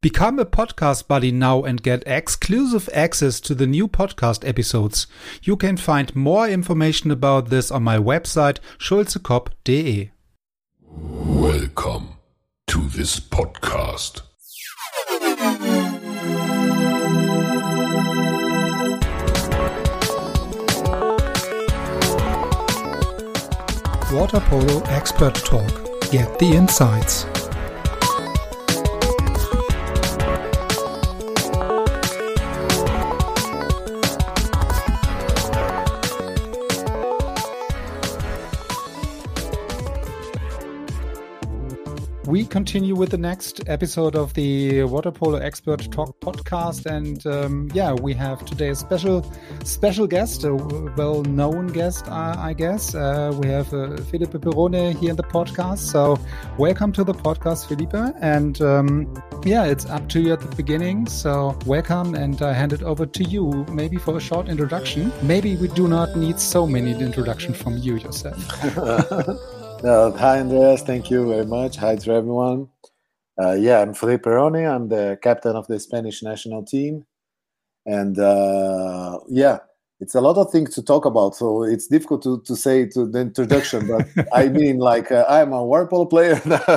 Become a podcast buddy now and get exclusive access to the new podcast episodes. You can find more information about this on my website schulzekopp.de. Welcome to this podcast. Water Polo Expert Talk. Get the insights. We continue with the next episode of the Water Polo Expert Talk podcast, and we have today a special guest, a well-known guest, I guess. We have Felipe Perrone here in the podcast. So, welcome to the podcast, Felipe. And it's up to you at the beginning. So, welcome, and I hand it over to you, maybe for a short introduction. Maybe we do not need so many introductions from you yourself. Hi, Andreas. Thank you very much. Hi to everyone. I'm Felipe Perrone. I'm the captain of the Spanish national team. And it's a lot of things to talk about. So it's difficult to say to the introduction. But I mean, I'm a water polo player.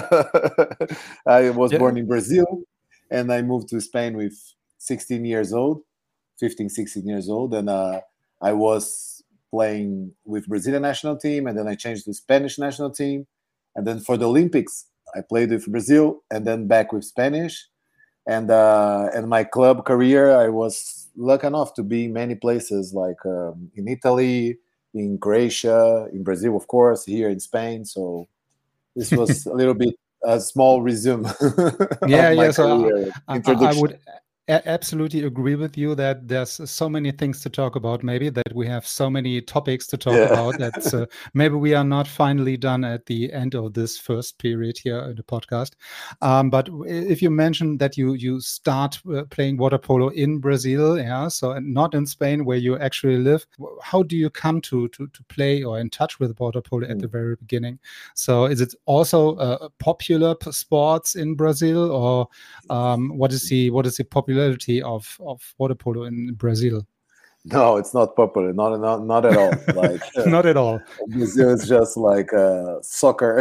I was born in Brazil. And I moved to Spain with 16 years old. And I was playing with Brazilian national team, and then I changed to Spanish national team, and then for the Olympics I played with Brazil, and then back with Spanish, and my club career I was lucky enough to be in many places, like in Italy, in Croatia, in Brazil, of course, here in Spain. So this was a little bit a small resume. So I would absolutely agree with you that there's so many things to talk about, maybe that we have so many topics to talk about that maybe we are not finally done at the end of this first period here in the podcast. But if you mentioned that you start playing water polo in Brazil, so not in Spain where you actually live, how do you come to play or in touch with water polo at the very beginning? So is it also a popular sports in Brazil, or what is the popularity of water polo in Brazil? No, it's not popular. Not at all. Not at all. Brazil is just like soccer.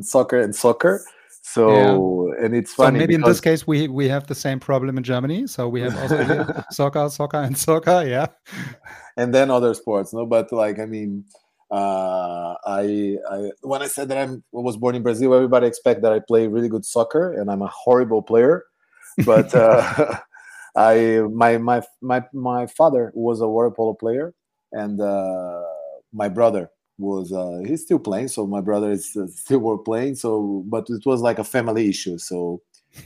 So and it's funny. So maybe in this case we have the same problem in Germany. So we have also soccer. Yeah. And then other sports, no. But I when I said that I was born in Brazil, everybody expect that I play really good soccer, and I'm a horrible player. But my father was a water polo player, and my brother was he's still playing. So my brother is still playing. So, but it was like a family issue. So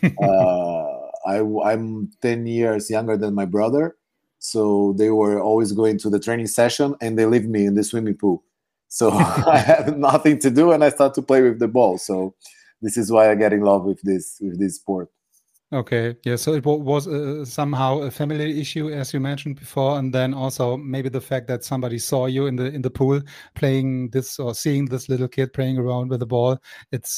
I'm 10 years younger than my brother. So they were always going to the training session, and they leave me in the swimming pool. So I had nothing to do, and I started to play with the ball. So this is why I get in love with this sport. Okay, yeah, so it was somehow a family issue, as you mentioned before, and then also maybe the fact that somebody saw you in the pool playing this, or seeing this little kid playing around with the ball. It's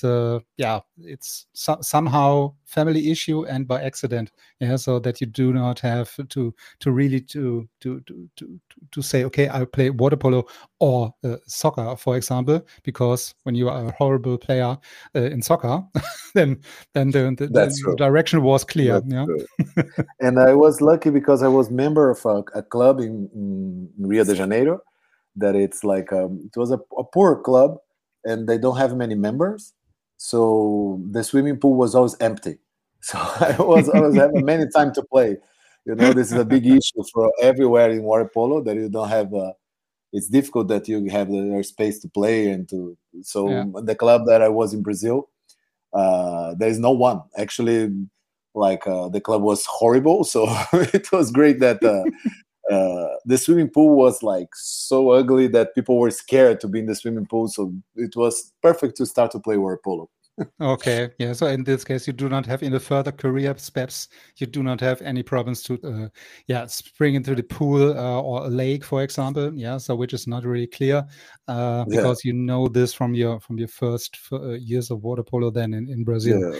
somehow family issue and by accident, so that you do not have to really to say, okay, I play water polo or soccer, for example, because when you are a horrible player in soccer, then the direction was clear. And I was lucky because I was member of a club in Rio de Janeiro, that it's like it was a poor club, and they don't have many members, so the swimming pool was always empty. So I was having many time to play. This is a big issue for everywhere in water polo, that you don't have it's difficult that you have the space to play and to. So the club that I was in Brazil, there is no one actually. The club was horrible, so it was great that the swimming pool was like so ugly that people were scared to be in the swimming pool. So it was perfect to start to play water polo. Okay, yeah. So in this case, you do not have in the further career steps, you do not have any problems to, spring into the pool or a lake, for example. Yeah, so which is not really clear because you know this from your first years of water polo then in Brazil.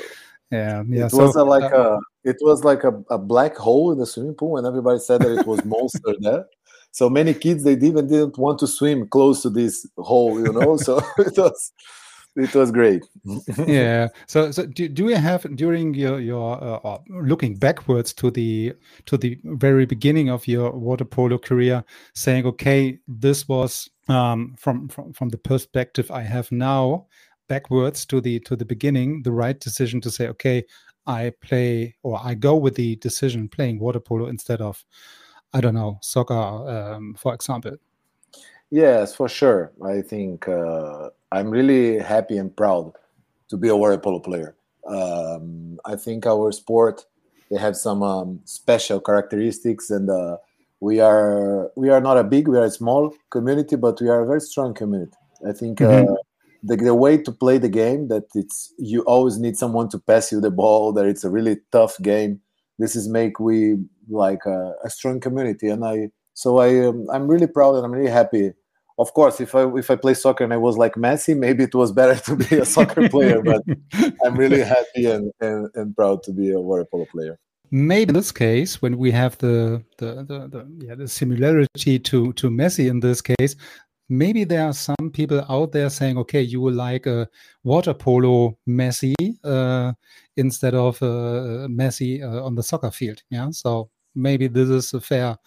Yeah. It was like a black hole in the swimming pool, and everybody said that it was monster there. So many kids, they even didn't want to swim close to this hole, So it was great. Yeah. So do you have, during your looking backwards to the very beginning of your water polo career, saying, okay, this was from the perspective I have now, backwards to the beginning, the right decision to say, okay, I play, or I go with the decision playing water polo instead of, I don't know, soccer, for example? Yes, for sure. I think I'm really happy and proud to be a water polo player. I think our sport, they have some special characteristics, and we are not a big, we are a small community, but we are a very strong community. I think the way to play the game, that you always need someone to pass you the ball, that it's a really tough game. This is make we like a strong community, and I'm really proud and I'm really happy. Of course, if I play soccer and I was like Messi, maybe it was better to be a soccer player. But I'm really happy and proud to be a water polo player. Maybe in this case, when we have the similarity to Messi in this case, maybe there are some people out there saying, okay, you will like a water polo Messi instead of Messi on the soccer field. Yeah, so maybe this is a fair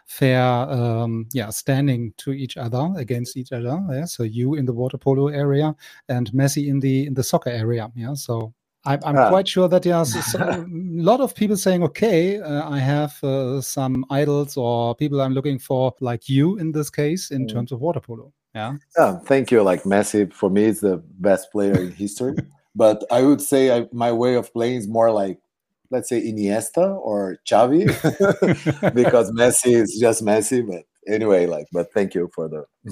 standing to each other, against each other. Yeah, so you in the water polo area and Messi in the soccer area. Yeah, so I'm quite sure that there's a lot of people saying, okay, I have some idols or people I'm looking for, like you in this case, in terms of water polo. Yeah. Thank you. Like Messi, for me, is the best player in history. But I would say my way of playing is more like, let's say, Iniesta or Xavi, because Messi is just Messi. But anyway, but thank you for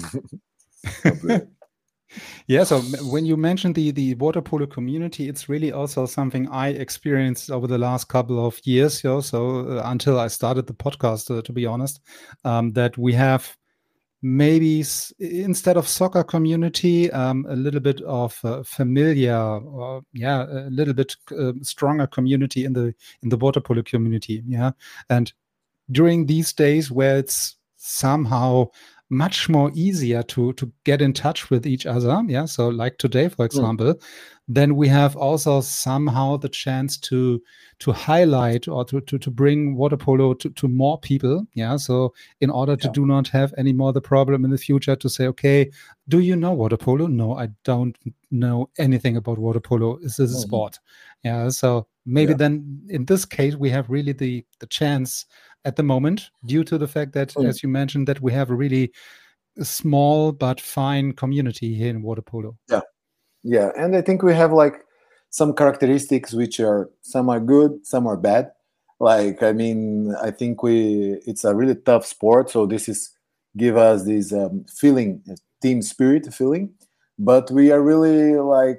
the. Yeah, so when you mentioned the water polo community, it's really also something I experienced over the last couple of years. So until I started the podcast, to be honest, that we have maybe instead of soccer community, a little bit of familiar, a little bit stronger community in the water polo community. Yeah, and during these days where it's somehow much more easier to get in touch with each other. Yeah. So like today, for example, then we have also somehow the chance to highlight or to bring water polo to more people. Yeah. So in order to do not have any more the problem in the future to say, okay, do you know water polo? No, I don't know anything about water polo. Is this a sport? Yeah. So maybe then in this case, we have really the chance at the moment, due to the fact that, as you mentioned, that we have a really small but fine community here in water polo. Yeah, and I think we have like some characteristics which are, some are good, some are bad. Like, I mean, I think it's a really tough sport, so this give us this feeling, team spirit feeling. But we are really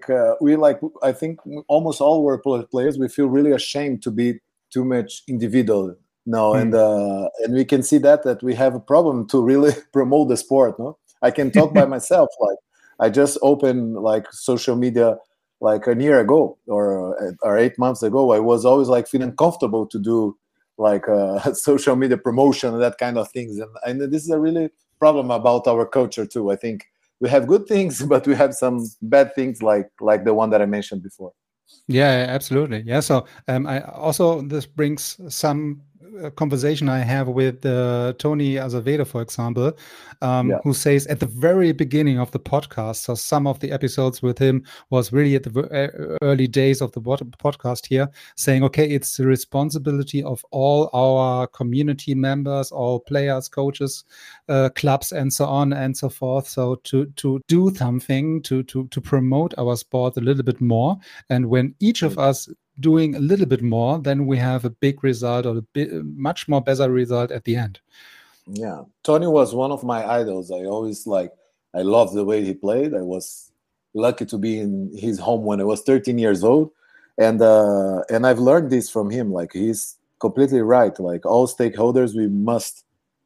I think almost all water polo players, we feel really ashamed to be too much individual. No, and we can see that we have a problem to really promote the sport. No, I can talk by myself. Like, I just opened like social media like a year ago or 8 months ago. I was always like feeling comfortable to do like social media promotion and that kind of things. And this is a really problem about our culture too. I think we have good things, but we have some bad things like the one that I mentioned before. Yeah, absolutely. Yeah. So I also, this brings some conversation I have with Tony Azevedo, for example, who says at the very beginning of the podcast, so some of the episodes with him was really at the early days of the podcast here, saying, okay, it's the responsibility of all our community members, all players, coaches, clubs, and so on and so forth. So to do something to promote our sport a little bit more. And when each of us doing a little bit more, then we have a big result, or much more better result at the end. Yeah, Tony was one of my idols. I loved the way he played. I was lucky to be in his home when I was 13 years old, and I've learned this from him. Like, he's completely right. Like, all stakeholders, we must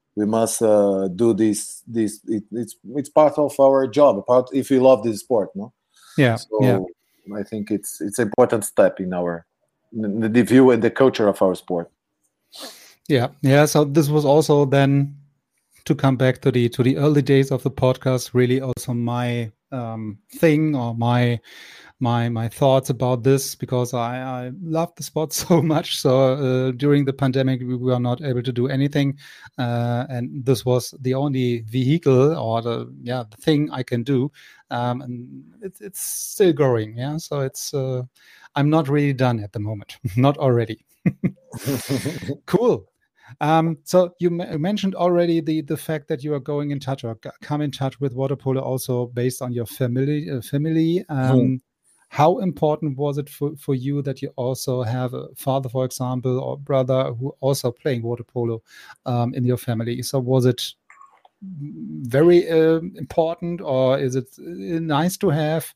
do this. It's part of our job. If we love this sport, no. Yeah. So I think it's an important step in our the view and the culture of our sport. Yeah. So this was also then, to come back to the early days of the podcast, really also my thing, or my thoughts about this, because I love the sport so much. So during the pandemic, we were not able to do anything, and this was the only vehicle, or the thing I can do, and it's still growing. Yeah, so it's I'm not really done at the moment, not already. Cool. So you mentioned already the fact that you are going in touch, or come in touch with water polo, also based on your family. How important was it for you that you also have a father, for example, or brother who also playing water polo in your family? So was it very important, or is it nice to have?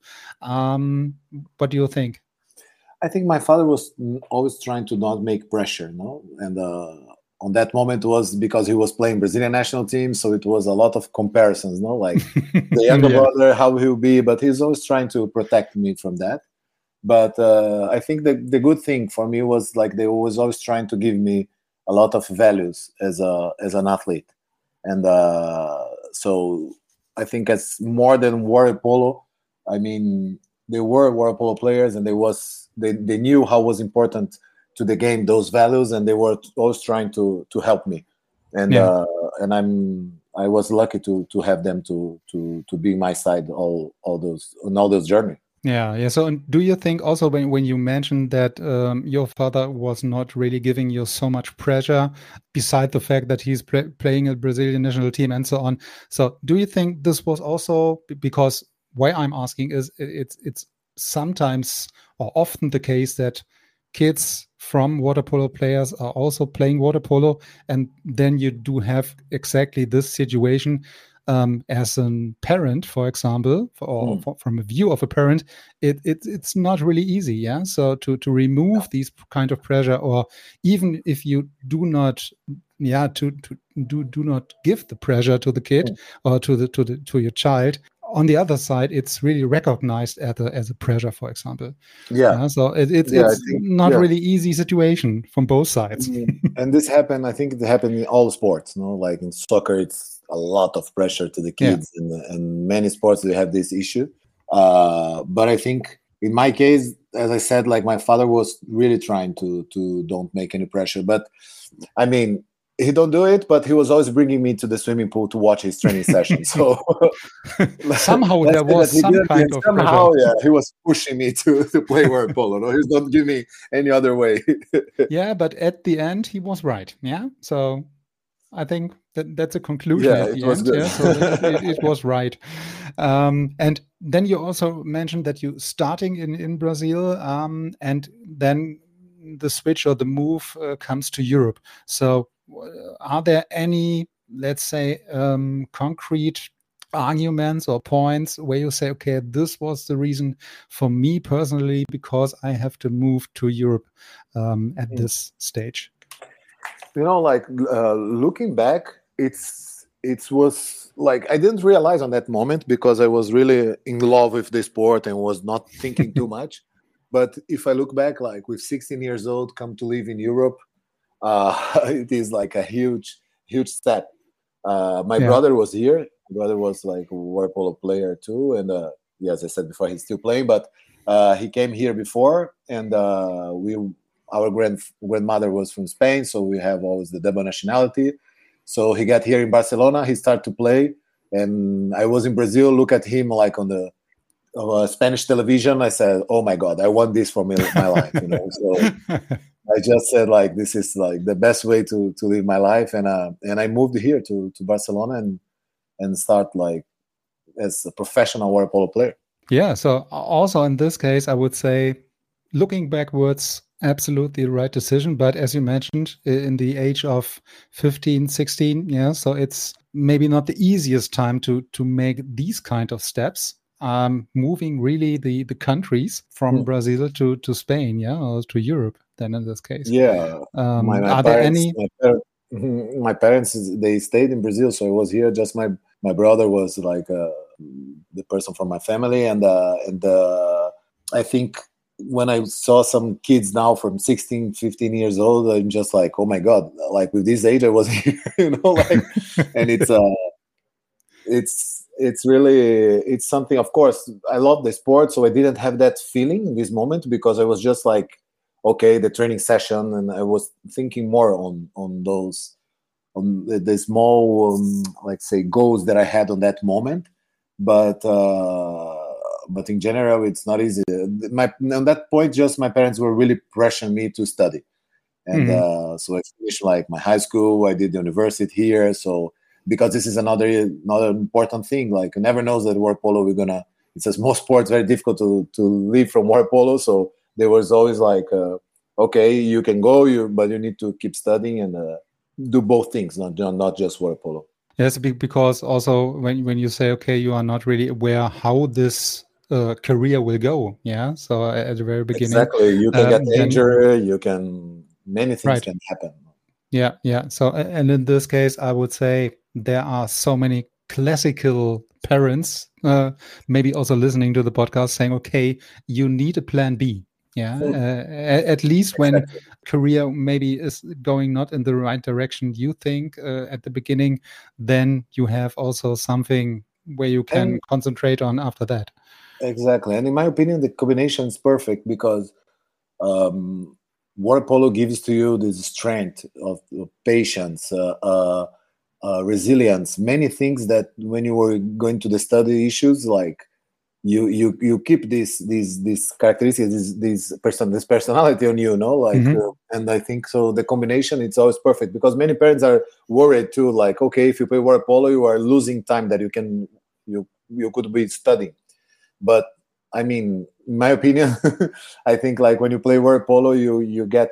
What do you think? I think my father was always trying to not make pressure, and on that moment was because he was playing Brazilian national team, so it was a lot of comparisons, like the younger brother, how he'll be, but he's always trying to protect me from that. But I think the good thing for me was like they was always trying to give me a lot of values as an athlete, and so I think as more than water polo, I mean, they were water polo players, and they knew how was important to the game those values, and they were always trying to help me, and I was lucky to have them to be my side all those journey. Yeah. So do you think also when you mentioned that your father was not really giving you so much pressure, beside the fact that he's playing a Brazilian national team and so on, so do you think this was also because, why I'm asking is it's sometimes or often the case that kids from water polo players are also playing water polo, and then you do have exactly this situation as a parent, for example, from a view of a parent, it's not really easy. Yeah, so to remove these kind of pressure, or even if you do not, do not give the pressure to the kid or to your child. On the other side, it's really recognized as a pressure, for example. So it's not really easy situation from both sides. And this happened. I think it happened in all sports. Like in soccer, it's a lot of pressure to the kids, and many sports they have this issue. But I think in my case, as I said, like my father was really trying to don't make any pressure. But I mean, he don't do it, but he was always bringing me to the swimming pool to watch his training session. So somehow there was some kind of somehow, he was pushing me to play water polo. No, he's not giving me any other way. Yeah, but at the end he was right. Yeah, so I think that's a conclusion at the end. Good. Yeah, so it was right. And then you also mentioned that you starting in Brazil, and then the switch or the move comes to Europe. So are there any, let's say, concrete arguments or points where you say, okay, this was the reason for me personally because I have to move to Europe at this stage? Like looking back, it was like I didn't realize on that moment because I was really in love with the sport and was not thinking too much. But if I look back, like with 16 years old, come to live in Europe, it is like a huge step. My brother was here. My brother was like a water polo player too, and as I said before, he's still playing. But he came here before, and our grandmother was from Spain, so we have always the double nationality. So he got here in Barcelona. He started to play, and I was in Brazil. Look at him like on the Spanish television. I said, "Oh my God, I want this for my life." So I just said like this is like the best way to live my life, and I moved here to Barcelona and start like as a professional water polo player. Yeah. So also in this case, I would say, looking backwards, absolutely the right decision. But as you mentioned, in the age of 15, 16, so it's maybe not the easiest time to make these kind of steps. Moving really the countries from Brazil to Spain, or to Europe. Then in this case, are there any? My parents they stayed in Brazil, so I was here. Just my brother was like the person from my family, and I think when I saw some kids now from 16, 15 years old, I'm just like, oh my God, like with this age I was here, like, and it's really, it's something, of course, I love the sport, so I didn't have that feeling in this moment because I was just like, okay, the training session, and I was thinking more on those, on the small, like say, goals that I had on that moment. But in general, it's not easy. On that point, just my parents were really pressuring me to study. And so I finished like my high school, I did the university here. So because this is another important thing, like you never knows that water polo it's a small sport, it's very difficult to leave from water polo. So there was always like, okay, you can go, but you need to keep studying and do both things, not just water polo. Yes, because also when you say, okay, you are not really aware how this career will go. Yeah. So at the very beginning, exactly, you can get injured, many things can happen. Yeah, yeah. So, and in this case, I would say there are so many classical parents, maybe also listening to the podcast, saying, okay, you need a plan B. Yeah, at least when career maybe is going not in the right direction, you think at the beginning, then you have also something where you can concentrate on after that. Exactly. And in my opinion, the combination is perfect because water polo gives to you this strength of patience, resilience, many things that when you were going to the study issues, like you keep these characteristics, this personality on you, like, and I think so. The combination, it's always perfect because many parents are worried too, like, okay, if you play water polo, you are losing time that you could be studying. But I mean, in my opinion, I think like when you play water polo, you get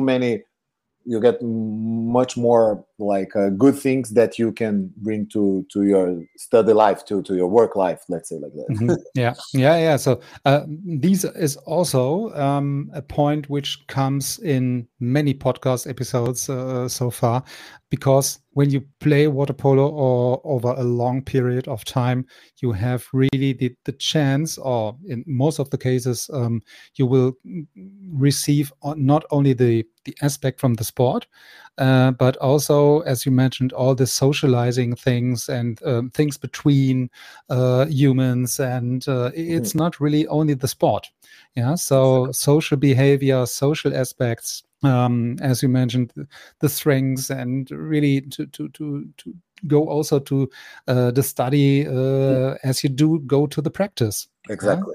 much more like good things that you can bring to your study life, to your work life, let's say like that. Yeah. So these is also a point which comes in many podcast episodes so far, because when you play water polo or over a long period of time, you have really the chance, or in most of the cases, you will receive not only the aspect from the sport, but also, as you mentioned, all the socializing things and things between humans, and it's not really only the sport. Yeah, so social behavior, social aspects, as you mentioned, the strengths, and really to go also to the study as you do go to the practice. Exactly.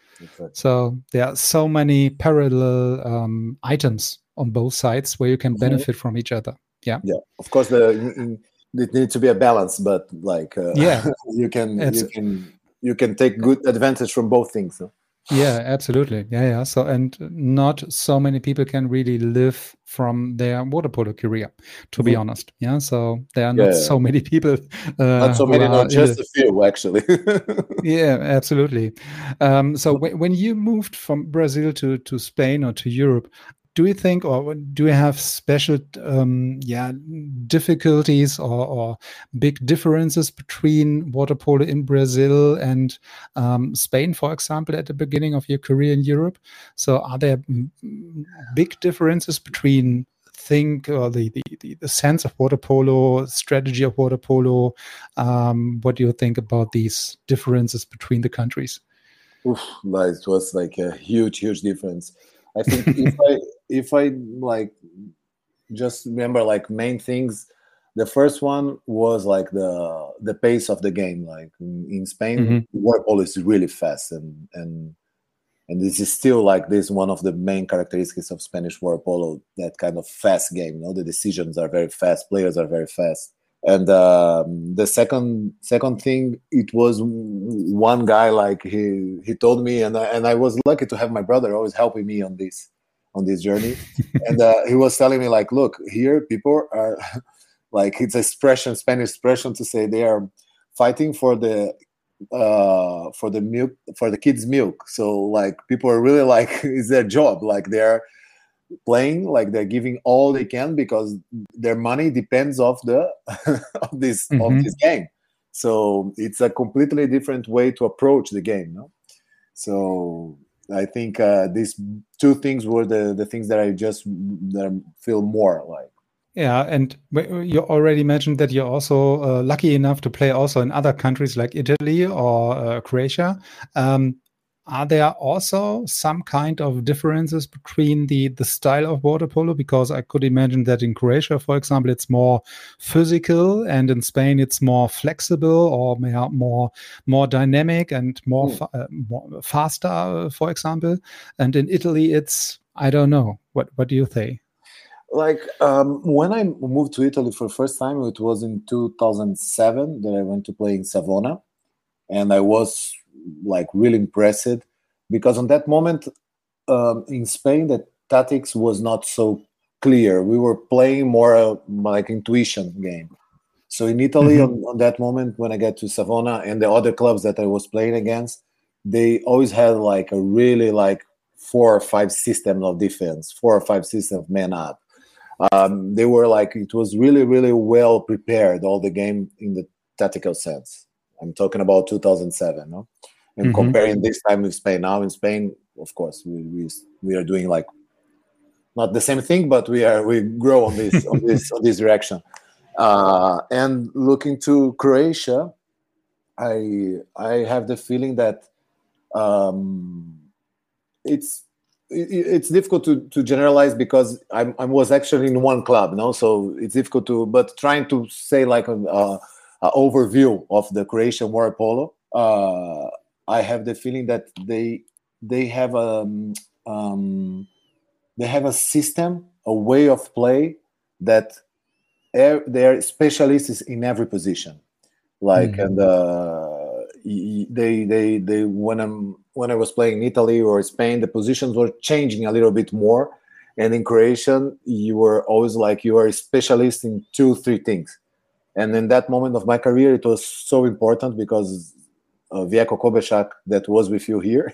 So there are so many parallel items on both sides where you can benefit from each other. Yeah. Of course, it needs to be a balance, but like you can take good advantage from both things. No? Yeah, absolutely. Yeah. So, and not so many people can really live from their water polo career, to be honest. Yeah. So there are not so many people. Not so many, not just a few, actually. Yeah, absolutely. So when you moved from Brazil to Spain or to Europe, do you think, or do you have special difficulties or big differences between water polo in Brazil and Spain, for example, at the beginning of your career in Europe? So are there big differences between the sense of water polo, strategy of water polo? What do you think about these differences between the countries? It was like a huge difference. I think if I like just remember like main things, the first one was like the pace of the game. Like in Spain, water polo is really fast, and this is still like this one of the main characteristics of Spanish water polo, that kind of fast game. The decisions are very fast, players are very fast. And the second thing, it was one guy, like he told me, and I was lucky to have my brother always helping me on this journey. And he was telling me, like, look, here people are like, it's Spanish expression to say they are fighting for the milk, for the kids' milk. So like people are really like, it's their job, like they're playing, like they're giving all they can because their money depends of this game. So it's a completely different way to approach the game, no? So I think these two things were the things that I feel more like. Yeah, and you already mentioned that you're also lucky enough to play also in other countries like Italy or Croatia. Are there also some kind of differences between the style of water polo? Because I could imagine that in Croatia, for example, it's more physical, and in Spain it's more flexible or more dynamic and more faster, for example. And in Italy, it's, I don't know. What do you think? Like when I moved to Italy for the first time, it was in 2007 that I went to play in Savona, and I was like really impressed because on that moment in Spain the tactics was not so clear. We were playing more like intuition game. So in Italy on that moment when I got to Savona and the other clubs that I was playing against, they always had like a really like 4 or 5 system of defense, 4 or 5 system of man up. They were like, it was really, really well prepared, all the game in the tactical sense. I'm talking about 2007, no? And comparing this time with Spain. Now in Spain, of course, we are doing like not the same thing, but we grow on this on this direction. And looking to Croatia, I have the feeling that it's difficult to generalize because I was actually in one club, no, so it's difficult to. But trying to say like an overview of the Croatian water polo, I have the feeling that they have a system, a way of play that they are specialists in every position. Like and they when I was playing in Italy or Spain, the positions were changing a little bit more, and in Croatian you were always like you are a specialist in 2-3 things. And in that moment of my career, it was so important because Vjeko Kobešak, that was with you here,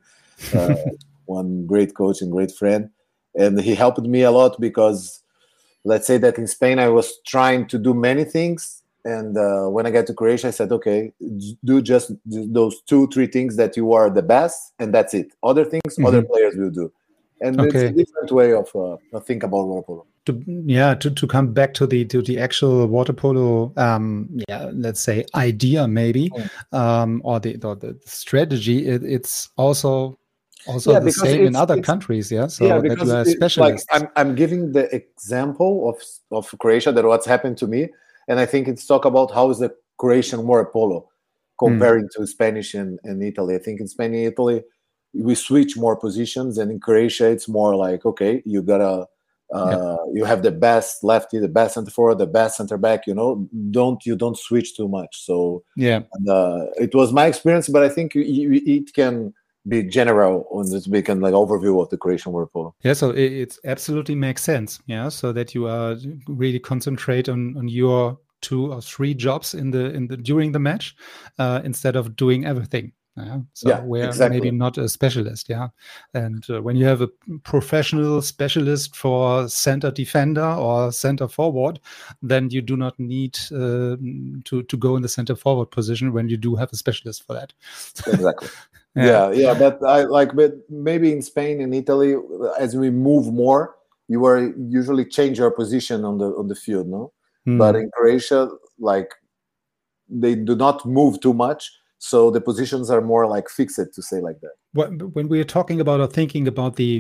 one great coach and great friend, and he helped me a lot because let's say that in Spain I was trying to do many things. And when I got to Croatia, I said, okay, do just those 2-3 things that you are the best, and that's it. Other things, other players will do. And it's a different way of think about water polo. To come back to the actual water polo, let's say idea maybe, or the strategy. It's also the same in other countries, yeah. So that you are a specialist. Like I'm giving the example of Croatia, that what's happened to me. And I think it's talk about how is the Croatian water polo comparing to Spanish and Italy. I think in Spain and Italy, we switch more positions. And in Croatia, it's more like, okay, you gotta, you have the best lefty, the best center forward, the best center back, you don't switch too much. So it was my experience, but I think it can be general on this big and like overview of the Croatian water polo. Yeah, so it absolutely makes sense. Yeah, so that you are really concentrate on your 2 or 3 jobs in the during the match instead of doing everything. We're exactly. maybe not a specialist. Yeah, and when you have a professional specialist for center defender or center forward, then you do not need to go in the center forward position when you do have a specialist for that. Exactly. Yeah, but but maybe in Spain and Italy, as we move more, you are usually change your position on the field, no? But in Croatia, like they do not move too much, so the positions are more like fixed, to say like that. When we are talking about or thinking about the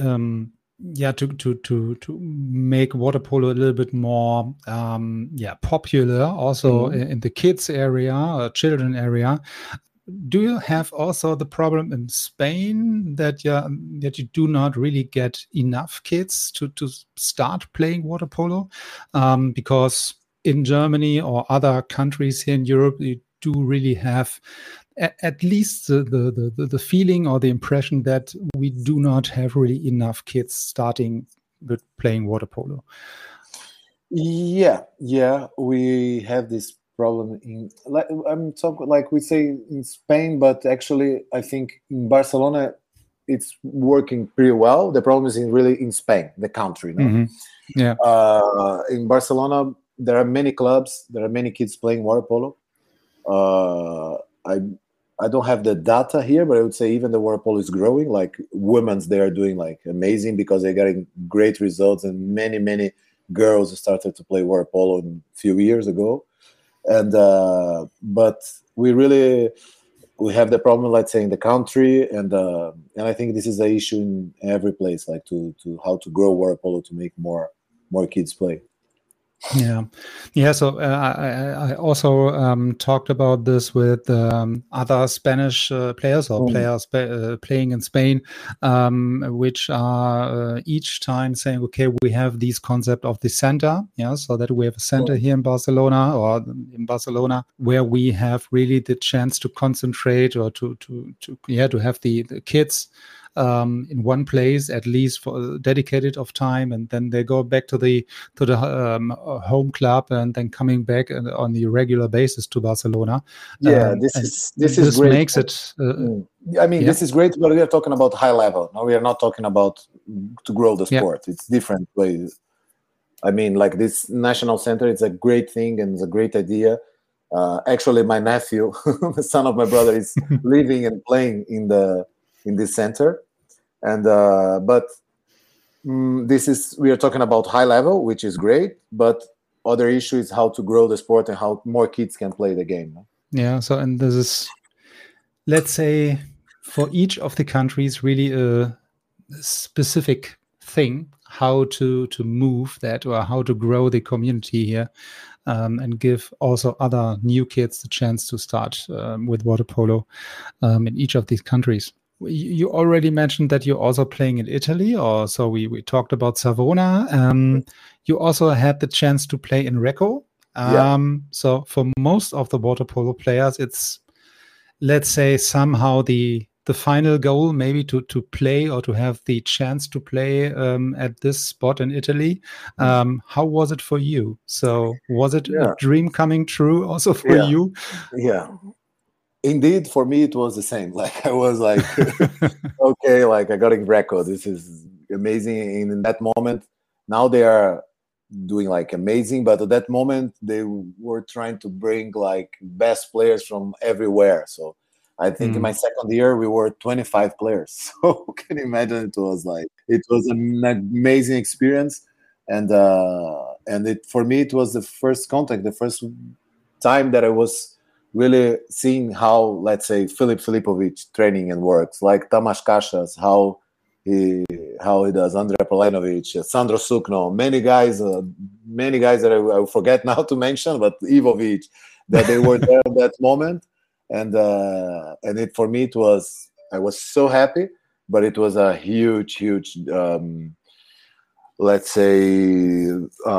to make water polo a little bit more popular, also in the kids area, children area. Do you have also the problem in Spain that you do not really get enough kids to start playing water polo? Because in Germany or other countries here in Europe, you do really have at least the feeling or the impression that we do not have really enough kids starting with playing water polo. Yeah, we have this problem in I'm talking like we say in Spain, but actually I think in Barcelona it's working pretty well. The problem is really in Spain, the country. No? Yeah. In Barcelona, there are many clubs, there are many kids playing water polo. I don't have the data here, but I would say even the water polo is growing. Like women's, they are doing like amazing because they're getting great results, and many girls started to play water polo a few years ago. And but we have the problem, let's say, in the country, and I think this is an issue in every place, like to how to grow water polo to make more kids play. Yeah. So I also talked about this with other Spanish players or players playing in Spain, which are each time saying, okay, we have this concept of the center, so that we have a center here in Barcelona where we have really the chance to concentrate or to have the kids in one place at least for dedicated of time, and then they go back to the home club and then coming back on the regular basis to Barcelona. This is great. Makes it. This is great, but we are talking about high level. No, we are not talking about to grow the sport. It's different ways. I mean, like this national center, it's a great thing and it's a great idea. Actually, my nephew, the son of my brother, is living and playing in this center, and but we are talking about high level, which is great, but other issue is how to grow the sport and how more kids can play the game. So, and this is, let's say, for each of the countries really a specific thing how to move that or how to grow the community here. And give also other new kids the chance to start with water polo in each of these countries. You already mentioned that you're also playing in Italy, or so we talked about Savona. You also had the chance to play in Recco. So for most of the water polo players, it's, let's say, somehow the final goal maybe to play or to have the chance to play at this spot in Italy. How was it for you? So was it a dream coming true also for you? Yeah. Indeed, for me, it was the same. Like, I was like, okay, like I got in Recco. This is amazing. And in that moment, now they are doing like amazing. But at that moment, they were trying to bring like best players from everywhere. So I think in my second year, we were 25 players. So can you imagine? It was an amazing experience. And for me, it was the first contact, the first time that I was really seeing how, let's say, Filip Filipovic training and works, like Tamas Casas, how he does, Andre Polenovic, Sandro Sukno, many guys that I forget now to mention, but Ivovic, that they were there at that moment. And it, for me, I was so happy, but it was a huge, let's say,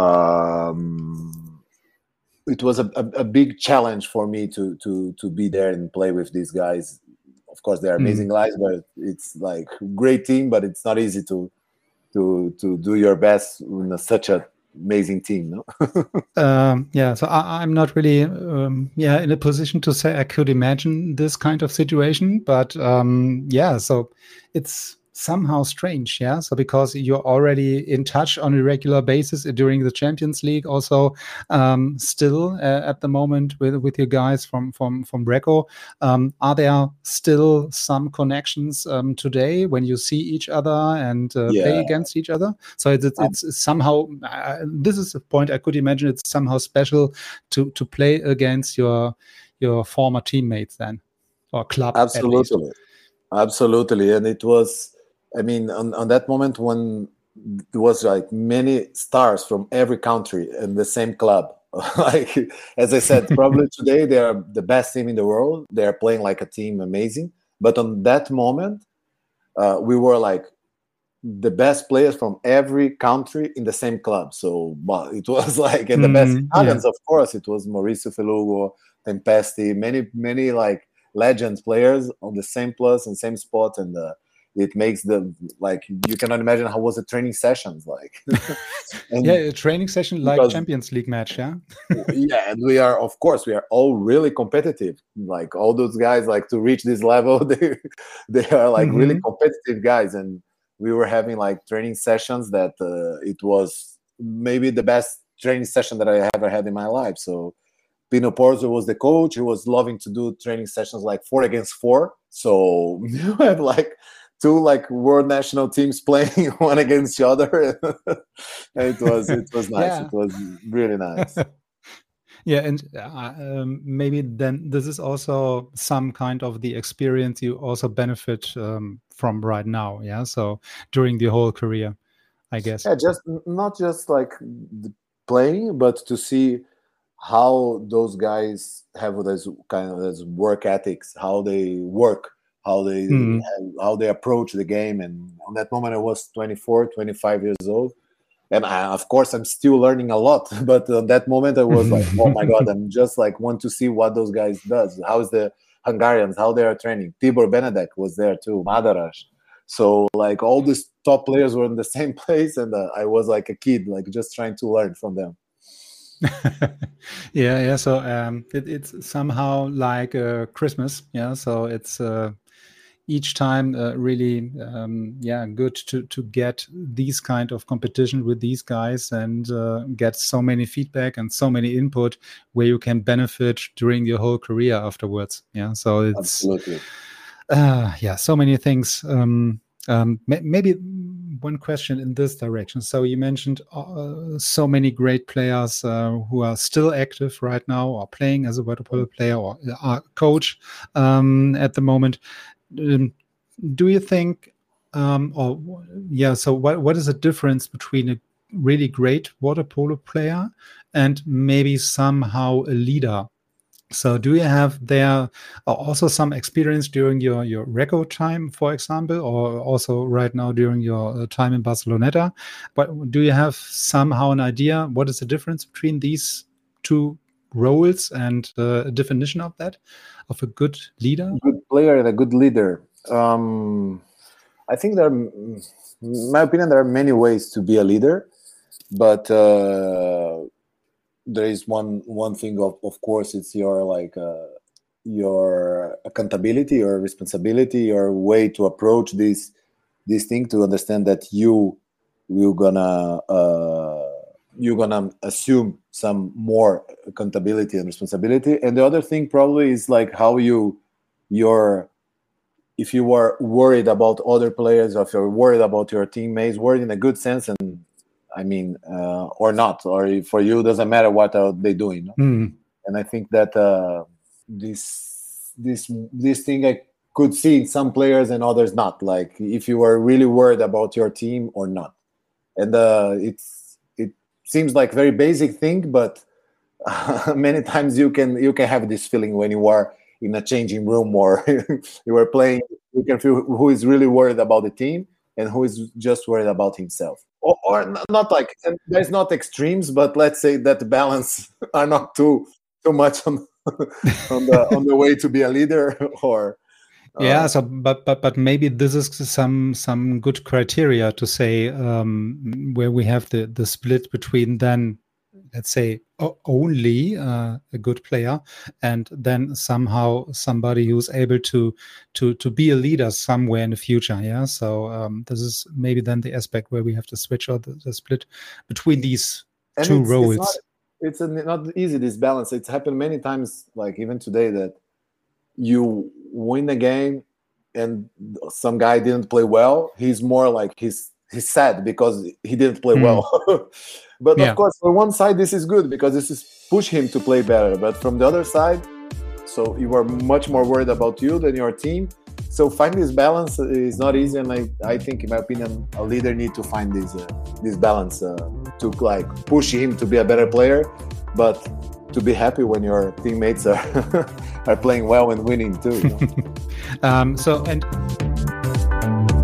it was a big challenge for me to be there and play with these guys. Of course, they're amazing guys, but it's like great team. But it's not easy to do your best in such an amazing team, no? So I'm not really in a position to say I could imagine this kind of situation, but so it's somehow strange, so because you're already in touch on a regular basis during the Champions League, also still at the moment with your guys from Recco. Are there still some connections today when you see each other and play against each other? So it's somehow this is a point I could imagine. It's somehow special to play against your former teammates then, or club. Absolutely, and it was. I mean, on that moment when there was like many stars from every country in the same club, like, as I said, probably today they are the best team in the world. They are playing like a team, amazing. But on that moment, we were like the best players from every country in the same club. So it was like, and the best Italians, of course, it was Mauricio Felugo, Tempesti, many like legends players on the same plus and same spot, and it makes the, like, you cannot imagine how was the training sessions like. A training session like Champions League match, and we are all really competitive. Like all those guys, like to reach this level, they are like really competitive guys, and we were having like training sessions that it was maybe the best training session that I ever had in my life. So Pino Porzo was the coach. He was loving to do training sessions like 4 against 4. So you had like 2 like world national teams playing one against the other. It was nice. Yeah. It was really nice. Yeah, and maybe then this is also some kind of the experience you also benefit from right now. Yeah, so during the whole career, I guess. Yeah, just not just like the playing, but to see how those guys have this kind of this work ethics, how they work, how they approach the game. And on that moment, I was 24, 25 years old. And of course, I'm still learning a lot. But at that moment, I was like, oh my God, I'm just like want to see what those guys does. How's the Hungarians, how they are training. Tibor Benedek was there too, Madaras. So like all these top players were in the same place. And I was like a kid, like just trying to learn from them. Yeah. So it's somehow like Christmas. Yeah. So it's each time really good to get these kind of competition with these guys and get so many feedback and so many input where you can benefit during your whole career afterwards. Yeah. So it's absolutely so many things. Maybe one question in this direction. So you mentioned so many great players who are still active right now or playing as a water polo player or are coach at the moment. Do you think so what is the difference between a really great water polo player and maybe somehow a leader? So do you have there also some experience during your record time, for example, or also right now during your time in Barceloneta? But do you have somehow an idea what is the difference between these two roles and a definition of that, of a good leader? A good player and a good leader. I think in my opinion, there are many ways to be a leader, but there is one thing of course it's your accountability, your responsibility, your way to approach this thing, to understand that you're gonna assume some more accountability and responsibility. And the other thing probably is like how if you are worried about other players, or if you're worried about your teammates, worried in a good sense, and I mean, or not, or for you, doesn't matter what are they doing. No? And I think that this thing I could see in some players and others not. Like if you are really worried about your team or not, and it seems like very basic thing, but many times you can have this feeling when you are in a changing room or you are playing. You can feel who is really worried about the team and who is just worried about himself. Or not like, and there's not extremes, but let's say that the balance are not too much on the way to be a leader. Or so but maybe this is some good criteria to say where we have the split between then, let's say, only a good player and then somehow somebody who's able to be a leader somewhere in the future. Yeah. So this is maybe then the aspect where we have to switch or the split between these two roles. It's not easy, this balance. It's happened many times, like even today, that you win the game and some guy didn't play well. He's more like he's sad because he didn't play well. But of course, on one side, this is good because this is push him to play better. But from the other side, so you are much more worried about you than your team. So finding this balance is not easy. And I think, in my opinion, a leader need to find this balance to like push him to be a better player, but to be happy when your teammates are playing well and winning too. You know?